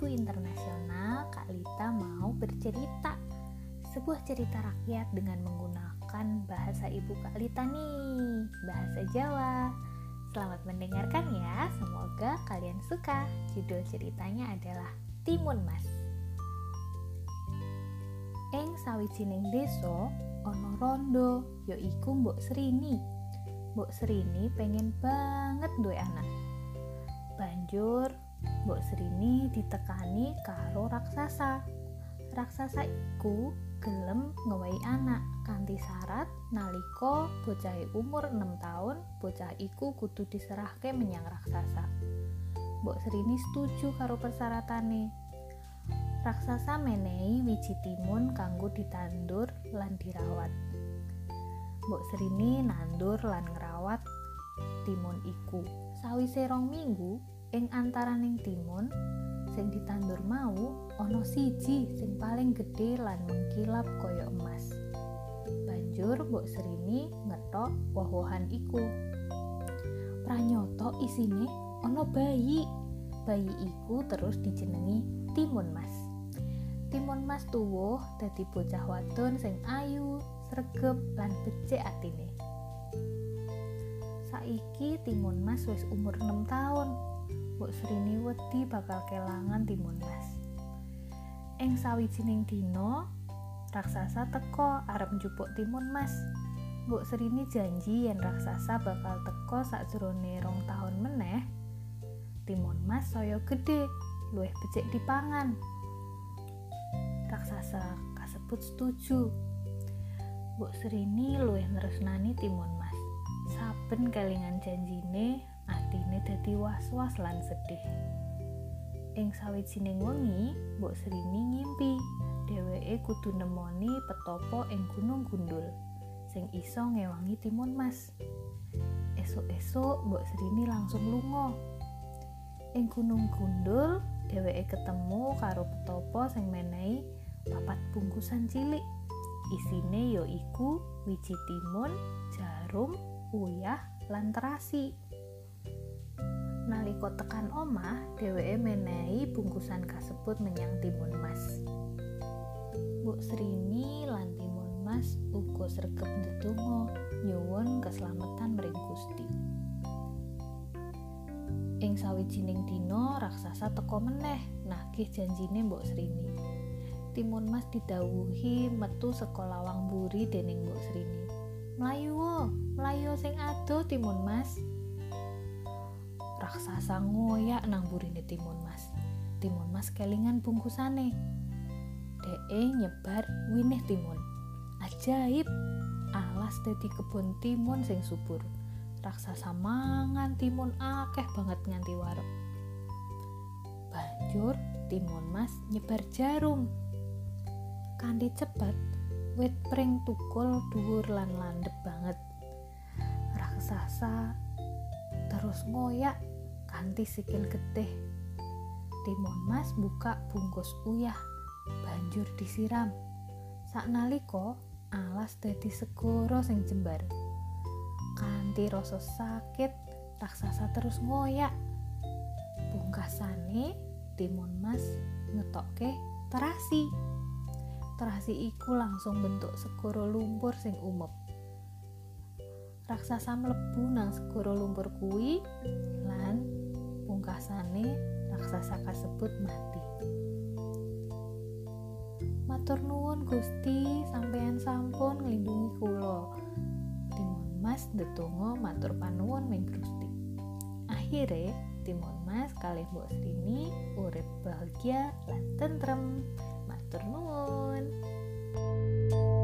Ibu Internasional, Kak Lita mau bercerita sebuah cerita rakyat dengan menggunakan bahasa ibu Kak Lita nih, bahasa Jawa. Selamat mendengarkan ya, semoga kalian suka. Judul ceritanya adalah Timun Mas. Ing sawijining desa ana rondo, yaiku Mbok Srini. Mbok Srini pengen banget duwe anak. Banjur Mbok Srini ditekani karo raksasa. Raksasa iku gelem ngewehi anak kanthi syarat nalika bocahe umur 6 taun, bocah iku kudu diserahke menyang raksasa. Mbok Srini setuju karo persyaratanne. Raksasa menehi wiji timun kanggo ditandur lan dirawat. Mbok Srini nandur lan ngrawat timun iku. Sawise 2 minggu, ing antaraning timun sing ditandur mau ana siji sing paling gedhe lan mengkilap kaya emas. Banjur Mbok Srini ngethok woh-wohan iku. Pranyata isine ana bayi. Bayi iku terus dijenengi Timun Mas. Timun Mas tuwuh dadi bocah wadon sing ayu, sregep lan becik atine. Saiki Timun Mas wis umur 6 taun. Mbok Srini wedi bakal kelangan Timun Mas. Ing sawijining dina, raksasa teka arep njupuk Timun Mas. Mbok Srini janji yen raksasa bakal teka sakjroning 2 taun meneh. Timun Mas saya gedhe, luwih becik dipangan. Raksasa kasebut setuju. Mbok Srini luwih nresnani Timun Mas. Saben kelingan janjine, atine dadi was-was lan sedih. Ing sawijining wengi, Mbok Srini ngimpi dheweke kudu nemoni petapa ing Gunung Gundul sing iso ngewangi Timun Mas. Esuk-esuk Mbok Srini langsung lunga. Ing Gunung Gundul, dheweke ketemu karo petapa sing menehi 4 bungkusan cilik. Isine ya iku wiji timun, jarum, uyah, lan terasi. Nalika tekan omah, dheweke menehi bungkusan kasebut menyang Timun Mas. Mbok Srini lan Timun Mas uga sregep ndedonga nyuwun keslametan mring Gusti. Ing sawijining dina raksasa teka meneh nagih janjine Mbok Srini. Timun Mas didhawuhi metu saka lawang mburi dening Mbok Srini. Mlayu sing adoh Timun Mas. Raksasa ngoyak nang burine Timun Mas. Timun Mas kelingan bungkusane. Dheke nyebar winih timun. Ajaib, alas dadi kebon timun sing subur. Raksasa mangan timun akeh banget nganti wareg. Banjur Timun Mas nyebar jarum. Kanthi cepet, wit pring tukul dhuwur lan landhep banget. Raksasa terus ngoyak kanthi sikil getih. Timun Mas buka bungkus uyah, banjur disiram. Saknalika alas dadi segara sing jembar. Kanthi rasa sakit, raksasa terus ngoyak. Pungkasane Timun Mas ngetokke terasi. Terasi iku langsung bentuk segara lumpur sing umep. Raksasa mlebu nang segara lumpur kuwi lan pungkasane raksasa kasebut mati. Matur nuwun Gusti, sampeyan sampun nglindungi kula. Timun Mas ndedonga matur panuwun ming Gusti. Akhire Timun Mas kalih Mbok Srini urip bahagia lan tentrem. Matur nuwun.